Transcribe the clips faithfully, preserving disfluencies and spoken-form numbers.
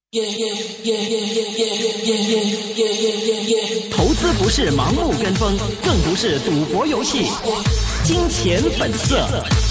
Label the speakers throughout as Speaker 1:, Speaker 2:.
Speaker 1: 投资不是盲目跟风，更不是赌博游戏。金钱本色。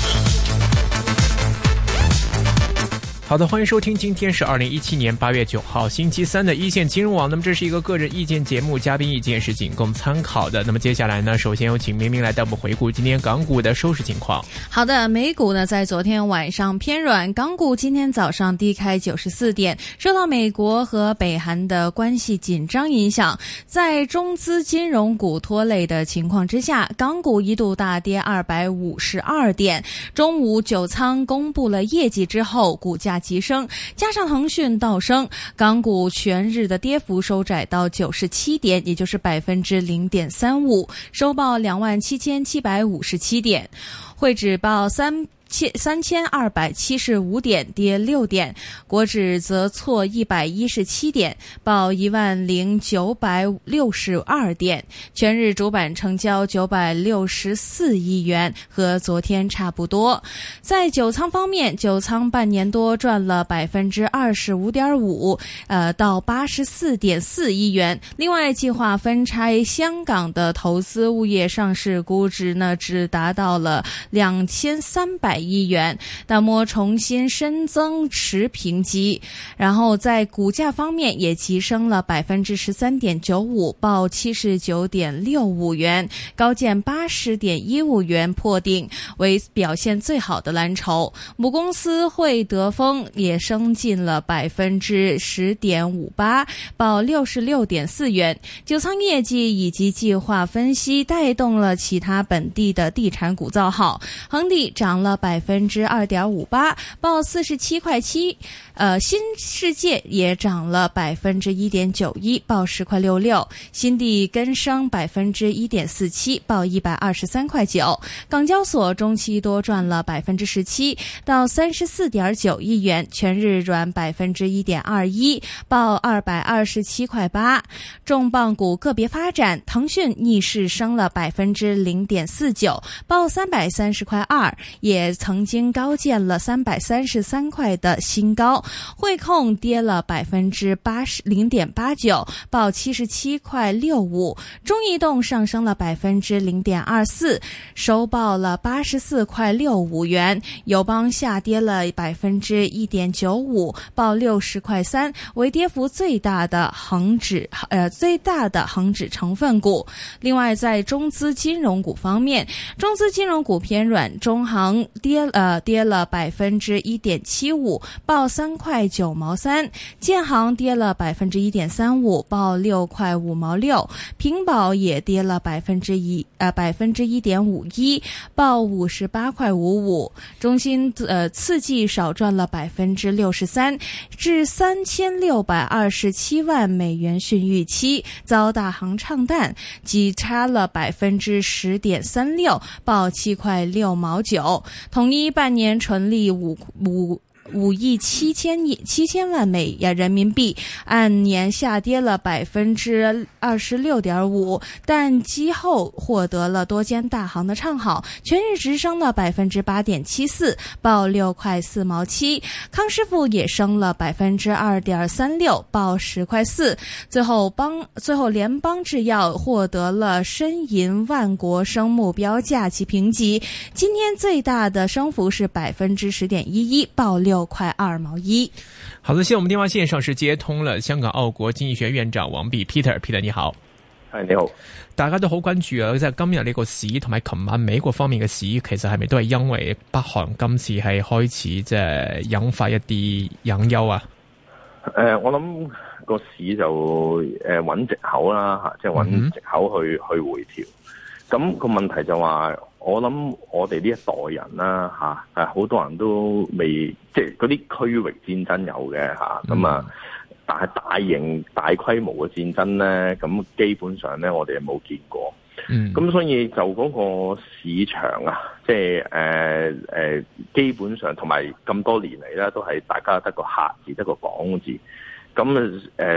Speaker 2: 好的，欢迎收听，今天是二零一七年八月九号星期三的一线金融网。那么这是一个个人意见节目，嘉宾意见是仅供参考的。那么接下来呢，首先有请明明来带我们回顾今天港股的收市情况。
Speaker 3: 好的，美股呢在昨天晚上偏软，港股今天早上低开九十四点，受到美国和北韩的关系紧张影响，在中资金融股拖累的情况之下，港股一度大跌二百五十二点。中午九仓公布了业绩之后，股价急升，加上腾讯倒升，港股全日的跌幅收窄到九十七点，也就是百分之零点三五，收报两万七千七百五十七点，汇指报三。三千二百七十五点，跌六点，国指则挫一百一十七点，报一万零九百六十二点，全日主板成交九百六十四亿元，和昨天差不多。在九仓方面，九仓半年多赚了百分之二十五点五，呃，到八十四点四亿元。另外，计划分拆香港的投资物业上市估值呢，只达到了两千三百亿元，那么重新深增持评级，然后在股价方面也急升了百分之十三点九五，报七十九点六五元，高见八十点一五元破顶，为表现最好的蓝筹。母公司会德丰也升进了百分之十点五八，报六十六点四元。九仓业绩以及计划分析带动了其他本地的地产股造好，恒地涨了百分之二点五八，报四十七块七。呃，新世界也涨了百分之一点九一，报十块六六。新地跟升百分之一点四七，报一百二十三块九。港交所中期多赚了百分之十七，到三十四点九亿元，全日软百分之一点二一，报二百二十七块八。重磅股个别发展，腾讯逆势升了百分之零点四九，报三百三十块二，也曾经高见了三百三十三块的新高。汇控跌了百分之八十零点八九，报七十七块六五。中移动上升了百分之零点二四，收报了八十四块六五元。友邦下跌了百分之一点九五，报六十块三，为跌幅最大的恒指呃最大的恒指成分股。另外，在中资金融股方面，中资金融股偏软，中行跌呃跌了百分之一点七五，报三块九毛三，建行跌了百分之一点三五，报六块五毛六，平保也跌了百分之一呃百分之一点五一，报五十八块五五。中芯呃次季少赚了百分之六十三，至三千六百二十七万美元逊预期，遭大行唱淡，急差了百分之十点三六，报七块六毛九。统一半年纯利五五。五亿七千亿七千万美元人民币，按年下跌了百分之二十六点五，但季后获得了多间大行的唱好，全日直升了百分之八点七四，报六块四毛七。康师傅也升了百分之二点三六，报十块四。最后邦最后联邦制药获得了申银万国生目标价及评级，今天最大的升幅是百分之十點一一，報六塊二毛一。
Speaker 2: 好的，現在我們電話線上是接通了香港澳國經濟學院長王弼 Peter，Peter 你好。
Speaker 4: 係你好，
Speaker 2: 大家都好關注啊！即係今日呢個市同埋琴晚美國方面嘅市，其實係咪都係因為北韓今次係開始即係引發一啲隱憂啊？
Speaker 4: 誒、呃，我諗個市就誒揾藉口啦嚇，即係揾藉口去、嗯、去回調。咁、個問題就話，我諗我哋呢一代人啦嚇，誒、啊、好多人都未即係嗰啲區域戰爭有嘅嚇，咁啊。嗯但係大型大規模嘅戰爭咧，咁基本上咧我哋係冇見過。嗯，咁所以就嗰個市場啊，即係誒誒，基本上同埋咁多年嚟咧，都係大家得個客字，得個講字。咁誒、呃，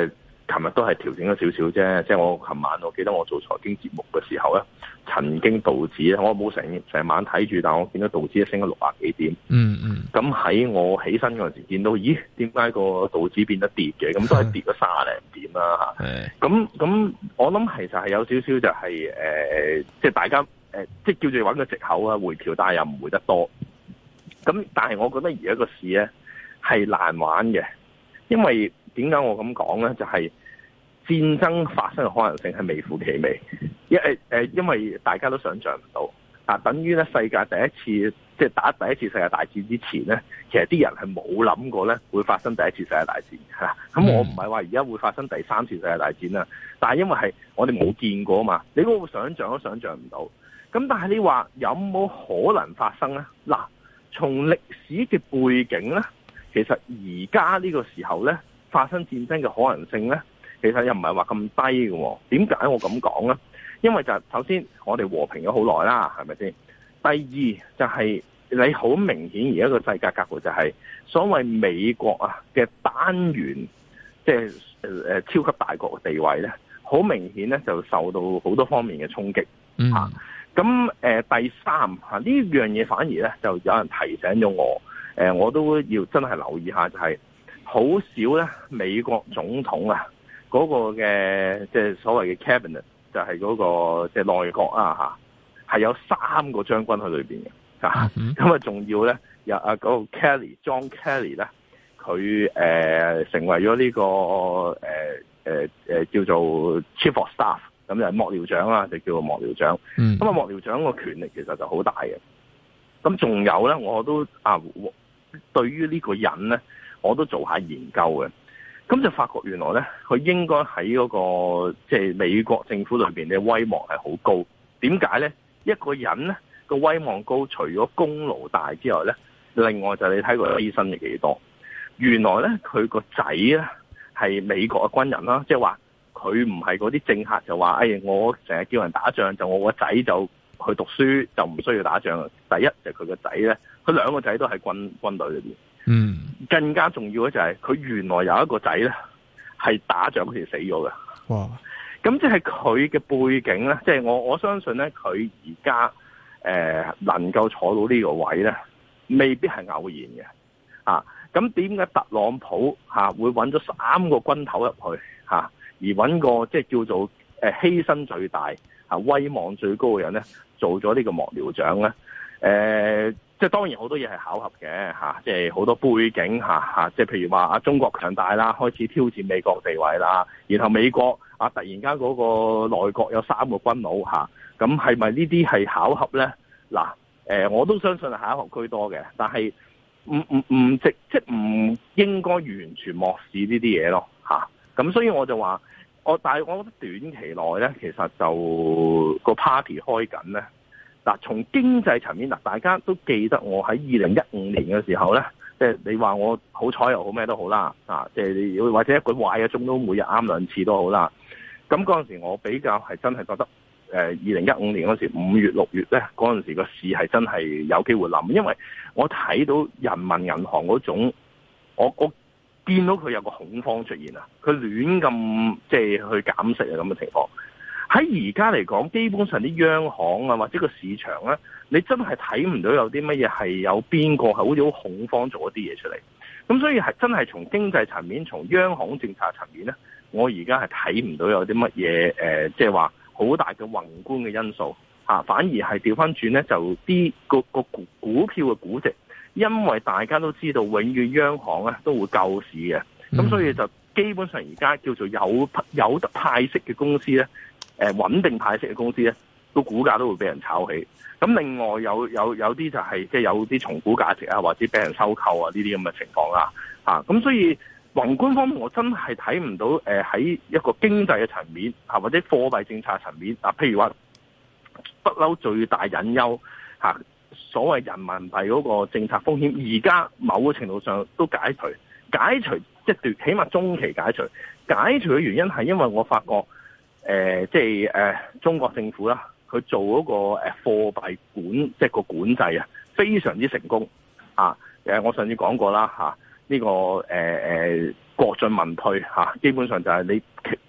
Speaker 4: 琴日都係調整咗少少啫。即係我琴晚我記得我做財經節目嘅時候咧，曾經道指咧，我冇成成晚睇住，但我見到道指升咗六百幾點。
Speaker 2: 嗯嗯。咁
Speaker 4: 喺我起身嗰陣時見到，咦？點解個道指變得跌嘅？咁都係跌咗三十零點啦嚇。咁咁，我諗其實係有少少就係、是、誒、呃，即係大家誒、呃，即係叫做揾個藉口啊，回調，但係又唔回得多。咁但係我覺得而家個市咧係難玩嘅，因為點解我咁講咧？就係、是、戰爭發生嘅可能性係微乎其微，因誒誒，因為大家都想象唔到啊，等於咧世界第一次即係打第一次世界大戰之前咧，其實啲人係冇諗過咧會發生第一次世界大戰嚇。咁我唔係話而家會發生第三次世界大戰啦，但係因為係我哋冇見過啊嘛，你嗰個想象都想象唔到。咁但係你話有冇可能發生咧？嗱。從歷史嘅背景咧，其實而家呢個時候咧發生戰爭嘅可能性咧，其實又唔係話咁低嘅。點解我咁講咧？因為就係首先我哋和平咗好耐啦，係咪先？第二就係你好明顯而家個世界格局就係所謂美國啊嘅單元，即係誒超級大國嘅地位咧，好明顯咧就受到好多方面嘅衝擊。嗯。咁誒、呃、第三嚇呢樣嘢反而咧就有人提醒咗我，誒、呃、我都要真係留意下，就係、是、好少咧美國總統啊嗰、那個嘅即係所謂嘅 cabinet 就係嗰、那個即係、就是、內閣啊嚇，係有三個將軍喺裏邊嘅嚇，咁啊仲要咧有啊嗰個 Kelly John Kelly 咧，佢誒、呃、成為咗呢、這個誒誒誒叫做 Chief of Staff。咁就係幕僚長啦，就叫做幕僚長。咁啊，幕僚長個權力其實就好大嘅。咁仲有咧，我都啊，對於呢個人咧，我都做下研究嘅。咁就發覺原來咧，佢應該喺嗰個即係美國政府裏邊嘅威望係好高。點解咧？一個人咧個威望高，除咗功勞大之外咧，另外就係你睇佢犧牲係幾多。原來咧，佢個仔咧係美國嘅軍人啦，即係話。佢唔係嗰啲政客就話，哎，我成日叫人打仗，就我個仔就去讀書，就唔需要打仗。第一就係佢個仔咧，佢兩個仔都喺軍軍隊裏邊。嗯，更加重要嘅就係佢原來有一個仔咧係打仗嗰時死咗嘅。哇！咁即係佢嘅背景咧，即係我我相信咧，佢而家誒能夠坐到呢個位咧，未必係偶然嘅。啊，咁點解特朗普嚇會揾咗三個軍頭入去嚇？而揾個即係叫做誒犧牲最大、啊威望最高嘅人咧，做咗呢個幕僚長咧。誒、呃，即係當然好多嘢係巧合嘅嚇，即係好多背景嚇嚇，即係譬如話啊中國強大啦，開始挑戰美國地位啦，然後美國啊突然間嗰個內閣有三個軍佬嚇，咁係咪呢啲係巧合咧？嗱，誒我都相信係巧合居多嘅，但係唔唔唔直即係唔應該完全漠視呢啲嘢咯嚇。咁所以我就話。我但係我覺得短期內咧，其實就個 party 開緊咧。嗱，從經濟層面嗱，大家都記得我喺二零一五年嘅時候咧，即係你話我好彩又好咩都好啦，啊，即係你或者一個壞嘅鐘都每日啱兩次都好啦。咁嗰陣時我比較係真係覺得，誒二零一五年嗰時五月六月咧，嗰陣時個市係真係有機會冧，因為我睇到人民銀行嗰種，我我。見到佢有個恐慌出現啊，佢亂咁即係去減息啊咁嘅情況。喺而家嚟講，基本上啲央行啊或者個市場咧，你真係睇唔到有啲乜嘢係有邊個係好似好恐慌做一啲嘢出嚟。咁所以係真係從經濟層面、從央行政策層面咧，我而家係睇唔到有啲乜嘢誒，即係話好大嘅宏觀嘅因素嚇，反而係調翻轉咧，就啲個個股股票嘅估值。因為大家都知道，永遠央行咧都會救市嘅，咁所以就基本上而家叫做有有得派息嘅公司咧，誒穩定派息嘅公司咧，個股價都會俾人炒起。咁另外有有有啲就係即係有啲重估價值啊，或者俾人收購啊呢啲咁嘅情況啦，啊咁所以宏觀方面我真係睇唔到誒喺一個經濟嘅層面啊，或者貨幣政策層面啊，譬如話不嬲最大隱憂嚇。所謂人民幣嗰個政策風險，而家某個程度上都解除，解除即係短，起碼中期解除。解除嘅原因係因為我發覺，誒、呃，即係誒、呃，中國政府啦，佢做嗰個誒貨幣管，即係個管制啊，非常之成功啊！誒，我上次講過啦嚇，呢、啊這個誒誒、呃、國進民退嚇、啊，基本上就係你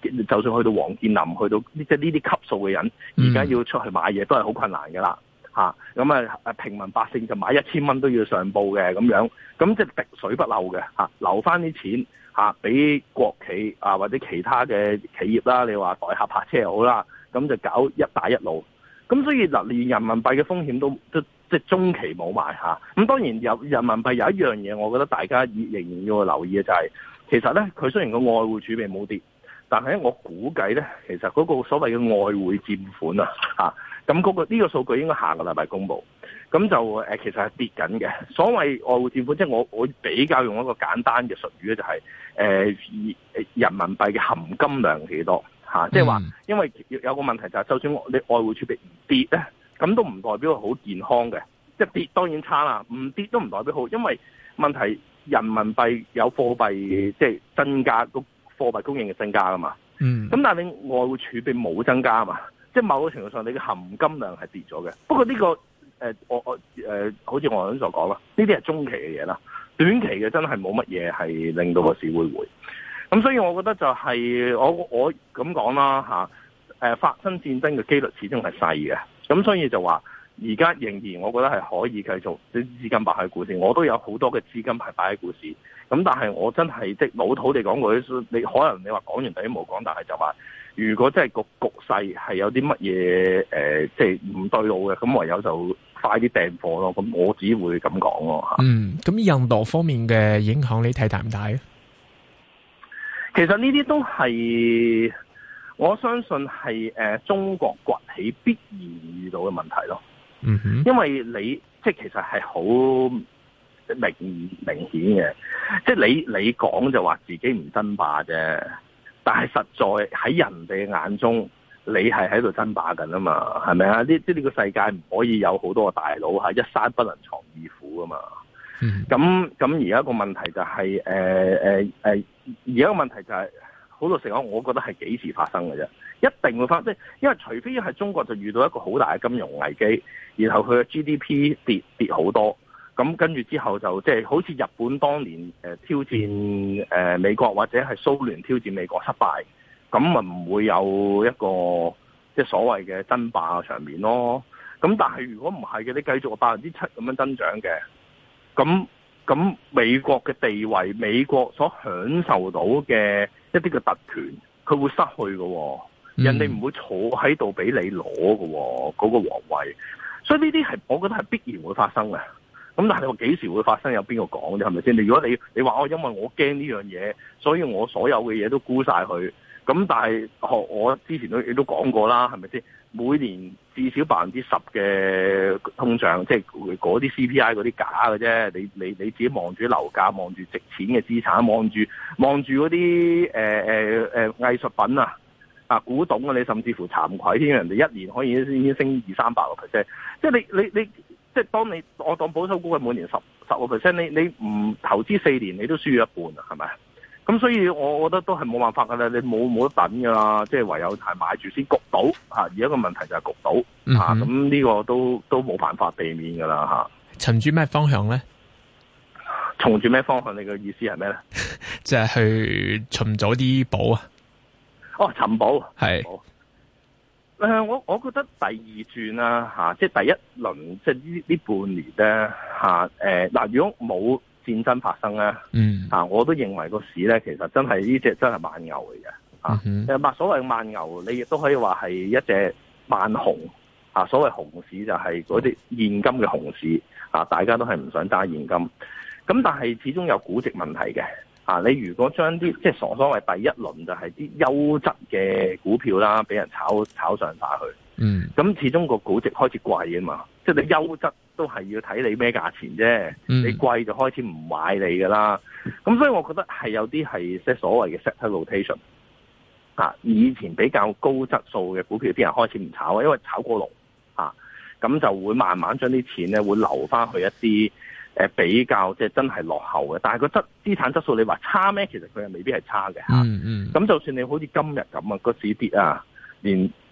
Speaker 4: 就算去到王健林，去到即係呢啲級數嘅人，而家要出去買嘢都係好困難㗎啦。嚇咁啊！平民百姓就買一千蚊都要上報嘅咁樣，咁即係滴水不漏嘅嚇，留翻啲錢嚇俾國企啊或者其他嘅企業啦。你話代客泊車又好啦，咁就搞一帶一路。咁所以嗱，連人民幣嘅風險都都即係中期冇埋嚇。咁當然有人民幣有一樣嘢，我覺得大家仍然要留意嘅就係、是，其實咧佢雖然個外匯儲備冇跌，但係我估計咧，其實嗰個所謂嘅外匯佔款啊嚇。咁嗰個呢個數據應該下個禮拜公佈，咁就誒其實係跌緊嘅。所謂外匯佔款，即係我我比較用一個簡單嘅術語咧，就係誒人民幣嘅含金量幾多嚇？即係話，因為有個問題就係，就算你外匯儲備唔跌咧，咁都唔代表好健康嘅。即係跌當然差啦，唔跌都唔代表好，因為問題人民幣有貨幣即係增加，個貨幣供應嘅增加啊嘛。嗯。咁但係你外匯儲備冇增加啊嘛。即係某個程度上，你嘅含金量係跌咗嘅。不過呢、這個誒、呃，我我誒、呃，好似我頭先所講啦，呢啲係中期嘅嘢啦，短期嘅真係冇乜嘢係令到個市會回。咁所以我覺得就係、是、我我咁講啦嚇，誒、啊、發生戰爭嘅機率始終係細嘅。咁所以就話而家仍然，我覺得係可以繼續啲資金擺喺股市。我都有好多嘅資金係擺喺股市。咁但係我真係即老土地講過，你可能你話講完等於冇講，但係就話。如果真係個局勢係有啲乜嘢誒，即係唔對路嘅，咁唯有就快啲訂貨咯。咁我只會咁講咯嚇。嗯，
Speaker 2: 咁印度方面嘅影響你睇大唔大啊？
Speaker 4: 其實呢啲都係我相信係誒、呃、中國崛起必然遇到嘅問題咯。嗯哼，因為你即係其實係好明明顯嘅，即係你你講就話自己唔爭霸啫。但係實在喺人哋眼中，你係喺度爭霸緊啊嘛，係咪啊？呢即係呢個世界唔可以有好多個大佬係一山不能藏二虎啊嘛。咁咁而家個問題就係誒誒誒，而家個問題就係、是、好老實講，我覺得係幾時發生嘅啫？一定會發生，即係因為除非係中國就遇到一個好大嘅金融危機，然後佢嘅 G D P 跌跌好多。咁跟住之後就即係好似日本當年誒挑戰誒美國或者係蘇聯挑戰美國失敗，咁咪唔會有一個即係所謂嘅爭霸嘅場面咯。咁但係如果唔係嘅，你繼續百分之七咁樣增長嘅，咁咁美國嘅地位，美國所享受到嘅一啲嘅特權，佢會失去嘅。人哋唔會坐喺度俾你攞嘅嗰個皇位，所以呢啲係我覺得係必然會發生嘅。咁但係你話幾時會發生？有邊個講啫？係咪先？你如果你你話我因為我驚呢樣嘢，所以我所有嘅嘢都沽晒佢。咁但係學我之前都亦都講過啦，係咪先？每年至少百分之十嘅通脹，即係嗰啲 C P I 嗰啲假嘅啫。你你你自己望住樓價，望住值錢嘅資產，望住望住嗰啲誒誒誒藝術品啊啊古董啊，你甚至乎慚愧添，人哋一年可以已經升二三百個 percent。即係你你你。你即係當你我當保守估計每年十十個 percent，你你唔投資四年，你都輸咗一半啊，係咪？咁所以我覺得都係冇辦法噶啦，你冇冇得等噶啦，即係唯有係買住先焗到嚇。而家個問題就係焗到嚇，咁呢、嗯、個都都冇辦法避免噶啦嚇。
Speaker 2: 循住咩方向咧？
Speaker 4: 從住咩方向？你嘅意思係咩咧？
Speaker 2: 即係去尋咗啲寶啊！
Speaker 4: 哦，尋寶係。誒、呃，我我覺得第二轉啦嚇，即係第一輪，即係呢呢半年咧嚇誒嗱，如果冇戰爭發生咧，嗯嚇、啊，我都認為個市咧其實真係呢隻真係慢牛嚟嘅嚇。誒、嗯，所謂慢牛，你亦都可以話係一隻慢熊嚇。所謂熊市就係嗰啲現金嘅熊市嚇，大家都係唔想揸現金。咁但係始終有估值問題嘅。啊！你如果將啲即係所所謂第一輪就係啲優質嘅股票啦，俾人炒炒上晒去，嗯，咁始終個估值開始貴啊嘛，即係你優質都係要睇你咩價錢啫，嗯、你貴就開始唔買你噶啦，咁所以我覺得係有啲係即係所謂嘅 sector rotation 啊，以前比較高質素嘅股票啲人開始唔炒，因為炒過龍啊，咁就會慢慢將啲錢咧會留翻去一啲。誒比較即係真係落後嘅，但係個質資產質素你話差咩？其實佢係未必係差嘅嚇。嗯嗯。咁就算你好似今日咁啊，個市跌啊，連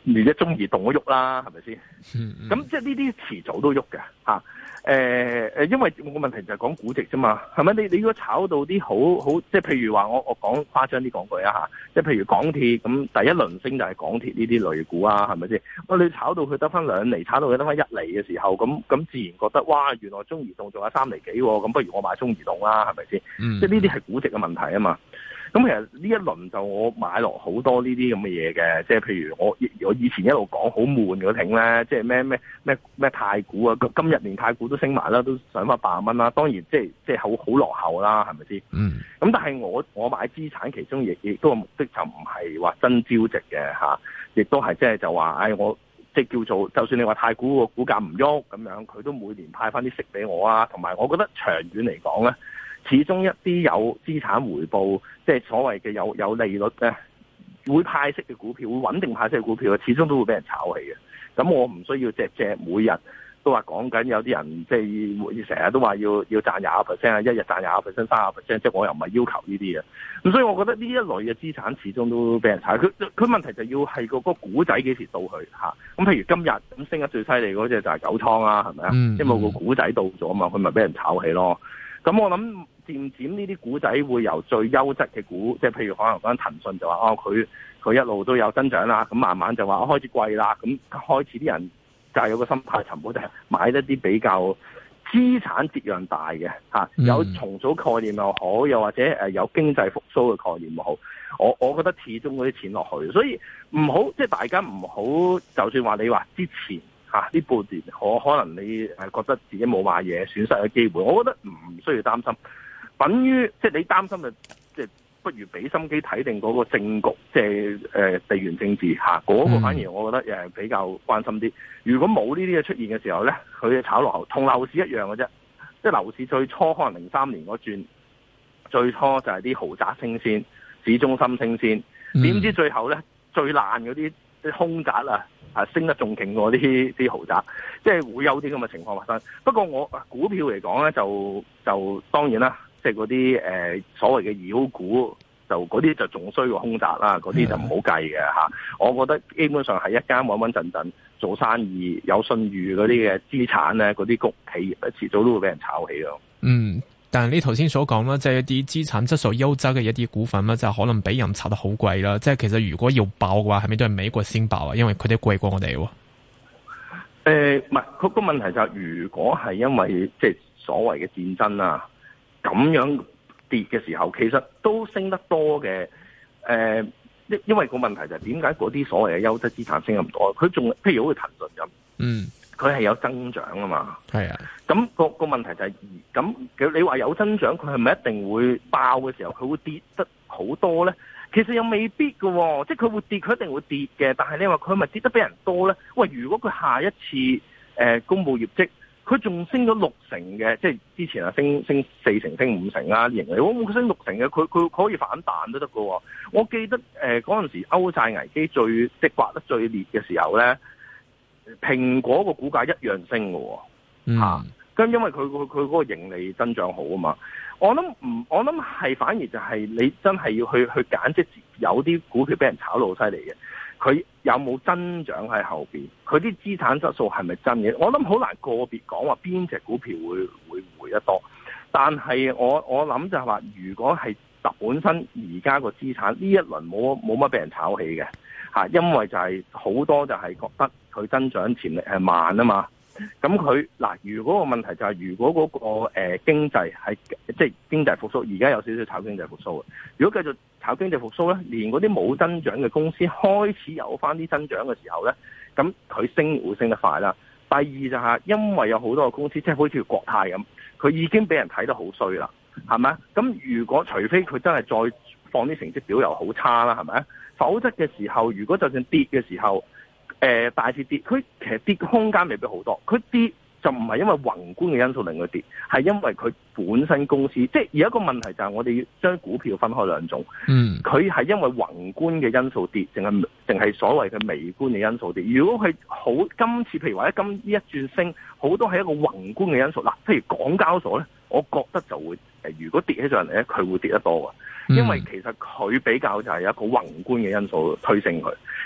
Speaker 4: 連隻中移動都喐啦，係咪先？咁、
Speaker 2: 嗯嗯、
Speaker 4: 即係呢啲遲早都喐嘅嚇。誒、呃、因為個問題就係講估值啫嘛，係咪？你你如果炒到啲好好，即係譬如話我我講誇張啲講句啊嚇，即係譬如港鐵咁，第一輪升就係港鐵呢啲類股啊，係咪先？喂，你炒到佢得翻兩厘，炒到佢得翻一厘嘅時候，咁咁自然覺得哇，原來中移動仲有三厘幾喎，咁不如我買中移動啦，係咪先？
Speaker 2: 嗯、
Speaker 4: 即係呢啲係估值嘅問題啊嘛。咁其實呢一輪就我買落好多呢啲咁嘅嘢嘅，即係譬如我我以前一路講好悶嗰挺咧，即係咩咩咩咩太古啊，今日連太古都升埋啦，都上翻八十蚊啦。當然即係即係好好落後啦，係咪先？嗯。咁但係我我買資產其中亦亦都個目的就唔係話真招值嘅嚇，亦都係即係就話，唉我即係叫做，就算你話太古個股價唔喐咁樣，佢都每年派翻啲息俾我啊。同埋我覺得長遠嚟講咧，始終一啲有資產回報，即係所謂嘅有有利率咧，會派息嘅股票，會穩定派息嘅股票，始終都會俾人炒起嘅。咁我唔需要隻隻每日都話講緊，有啲人即係成日都話要要賺廿個 percent 啊，一日賺廿個 percent、三十 percent，即係我又唔係要求呢啲嘅。咁所以我覺得呢一類嘅資產始終都俾人炒。佢佢問題就要係個個股仔幾時到去嚇。咁譬如今日咁升得最犀利嗰隻就係九倉啦，係咪啊？嗯、因為個股仔到咗啊嘛，佢咪俾人炒起咯。咁我諗漸漸呢啲股仔會由最優質嘅股，即係譬如可能講騰訊就話哦，佢佢一路都有增長啦，咁慢慢就話開始貴啦，咁開始啲人就係有個心態尋寶，就係買一啲比較資產折讓大嘅嚇，有重組概念又好，又或者誒有經濟復甦嘅概念又好，我我覺得始終嗰啲錢落去，所以唔好即係大家唔好，就算話你話之前。啊！呢半年可可能你係覺得自己冇買嘢，損失嘅機會，我覺得唔需要擔心。等於即係你擔心嘅，即係不如俾心機睇定嗰個政局，即係誒地緣政治嚇嗰個，反而我覺得誒比較關心啲。如果冇呢啲嘢出現嘅時候咧，佢炒落後同樓市一樣嘅啫。即係樓市最初可能零三年嗰轉，最初就係啲豪宅升先，市中心升先，點知最後咧最爛嗰啲啲空宅啊！啊，升得仲勁過啲啲豪宅，即係會有啲咁嘅情況發生。不過我股票嚟講咧，就就當然啦，即係嗰啲誒所謂嘅妖股，就嗰啲就仲衰過空宅啦，嗰啲就唔好計嘅嚇。我覺得基本上係一間穩穩陣陣做生意、有信譽嗰啲嘅資產咧，嗰啲谷企業咧，遲早都會俾人炒起咯。嗯。但係你頭先所講啦，即係一啲資產質素優質嘅一啲股份啦，就可能俾人炒得好貴啦。即係其實如果要爆嘅話，係咪都係美國先爆啊？因為佢哋貴過我哋。誒、呃，唔係，嗰個問題就係、是，如果係因為即係所謂嘅戰爭啊，咁樣跌嘅時候，其實都升得多嘅。誒、呃，因因為個問題就係點解嗰啲所謂嘅優質資產升咁多？佢仲譬如好似騰訊咁，嗯。佢係有增長啊嘛，係啊，咁、那個個問題就係、是，咁你話有增長，佢係咪一定會爆嘅時候，佢會跌得好多咧？其實又未必㗎喎、哦，即係佢會跌，佢一定會跌嘅。但係你話佢係咪跌得比人多咧？喂，如果佢下一次誒、呃、公佈業績，佢仲升咗六成嘅，即係之前啊升升四成、升五成啦，盈利，我佢升六成嘅，佢佢可以反彈都得㗎喎。我記得誒嗰陣時歐債危機最即係刮得最烈嘅時候咧。蘋果個股價一樣升嘅喎，咁、啊、因為佢佢佢嗰個盈利增長好啊嘛，我諗唔，我諗係反而就係你真係要去去揀，即係有啲股票俾人炒到好犀利嘅，佢有冇增長喺後邊，佢啲資產質素係咪真嘅？我諗好難個別講話邊隻股票會會回得多，但係我我諗就係話，如果係本身而家個資產呢一輪冇冇乜俾人炒起嘅。因為就係好多就係覺得佢增長潛力係慢啊嘛，咁佢嗱，如果個問題就係、是、如果嗰、那個誒、呃、經濟係即係經濟復甦，而家有少少炒經濟復甦嘅，如果繼續炒經濟復甦咧，連嗰啲冇增長嘅公司開始有翻啲增長嘅時候咧，咁佢升會升得快啦。第二就係因為有好多個公司，即係好似國泰咁，佢已經俾人睇得好衰啦，係咪？咁如果除非佢真係再放啲成績表又好差啦，係咪？否則嘅時候，如果就算跌嘅時候，誒、呃、大市跌，佢其實跌嘅空間未必好多。佢跌就唔係因為宏觀嘅因素令佢跌，係因為佢本身公司，即係而一個問題就係我哋要將股票分開兩種。嗯，佢係因為宏觀嘅因素跌，淨係淨係所謂嘅微觀嘅因素跌。如果佢好今次，譬如話今呢一轉升，好多係一個宏觀嘅因素。嗱，譬如港交所咧，我覺得就會誒，如果跌起上嚟咧，佢會跌得多嘅。因為其實佢比較就係有一個宏觀嘅因素推升佢，咁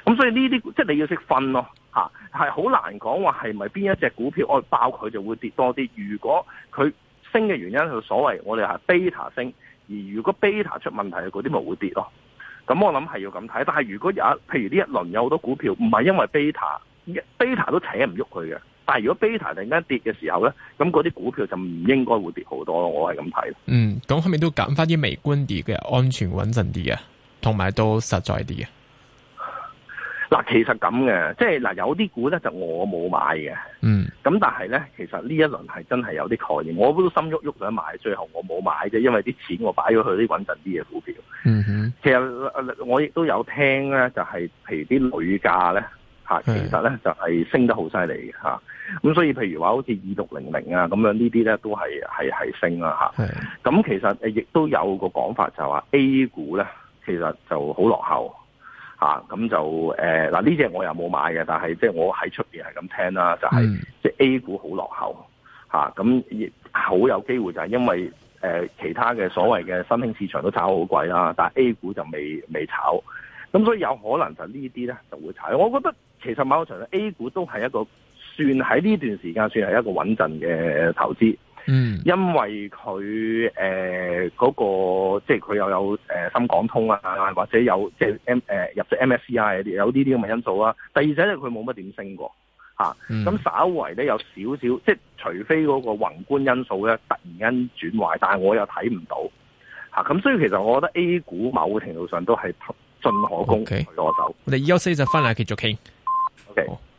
Speaker 4: 咁所以呢啲即係你要識分咯，嚇係好難講話係咪邊一隻股票我爆佢就會跌多啲。如果佢升嘅原因係所謂我哋係 beta 升，而如果 beta 出問題嘅嗰啲咪會跌咯。咁我諗係要咁睇。但係如果有譬如呢一輪有好多股票唔係因為 beta，beta 都扯唔喐佢嘅。但係如果 beta 突然間跌嘅時候咧，咁嗰啲股票就唔應該會跌好多咯。我係咁睇。嗯，
Speaker 2: 咁係咪都揀翻啲微觀啲嘅，安全穩陣啲嘅，同埋都實在啲嘅？
Speaker 4: 嗱，其實咁嘅，即係嗱，有啲股咧就我冇買嘅，嗯，咁但係咧，其實呢一輪係真係有啲概念，我都心喐喐想買，最後我冇買啫，因為啲錢我擺咗去啲穩陣啲嘅股票。嗯哼，其實我亦都有聽咧，就係譬如啲鋁價咧嚇，其實咧就係升得好犀利嘅嚇，咁所以譬如話好似二六零零啊咁樣呢啲咧都係係係升啦嚇。咁其實誒亦都有個講法就話 A 股咧其實就好落後。啊，咁就誒嗱呢隻我又冇買嘅，但係即係我喺出邊係咁聽啦，就係、是、即係 A 股好落後嚇，咁亦好有機會就係因為誒、呃、其他嘅所謂嘅新興市場都炒好貴啦，但係 A 股就未未炒，咁所以有可能就呢啲咧就會炒。我覺得其實某程度 A 股都係一個算喺呢段時間算係一個穩陣嘅投資。嗯，因為佢誒嗰個即係佢又有誒、呃、深港通啊，或者有即係 M 誒、呃、入咗 M S C I 有呢啲咁嘅因素啊。第二就係佢冇乜點升過嚇，咁、啊嗯、稍為咧有少少，即係除非嗰個宏觀因素咧突然間轉壞，但係我又睇唔到嚇。咁、啊、所以其實我覺得 A 股某程度上都係進可攻退可守。
Speaker 2: 我哋休息就翻嚟繼續傾。
Speaker 4: OK。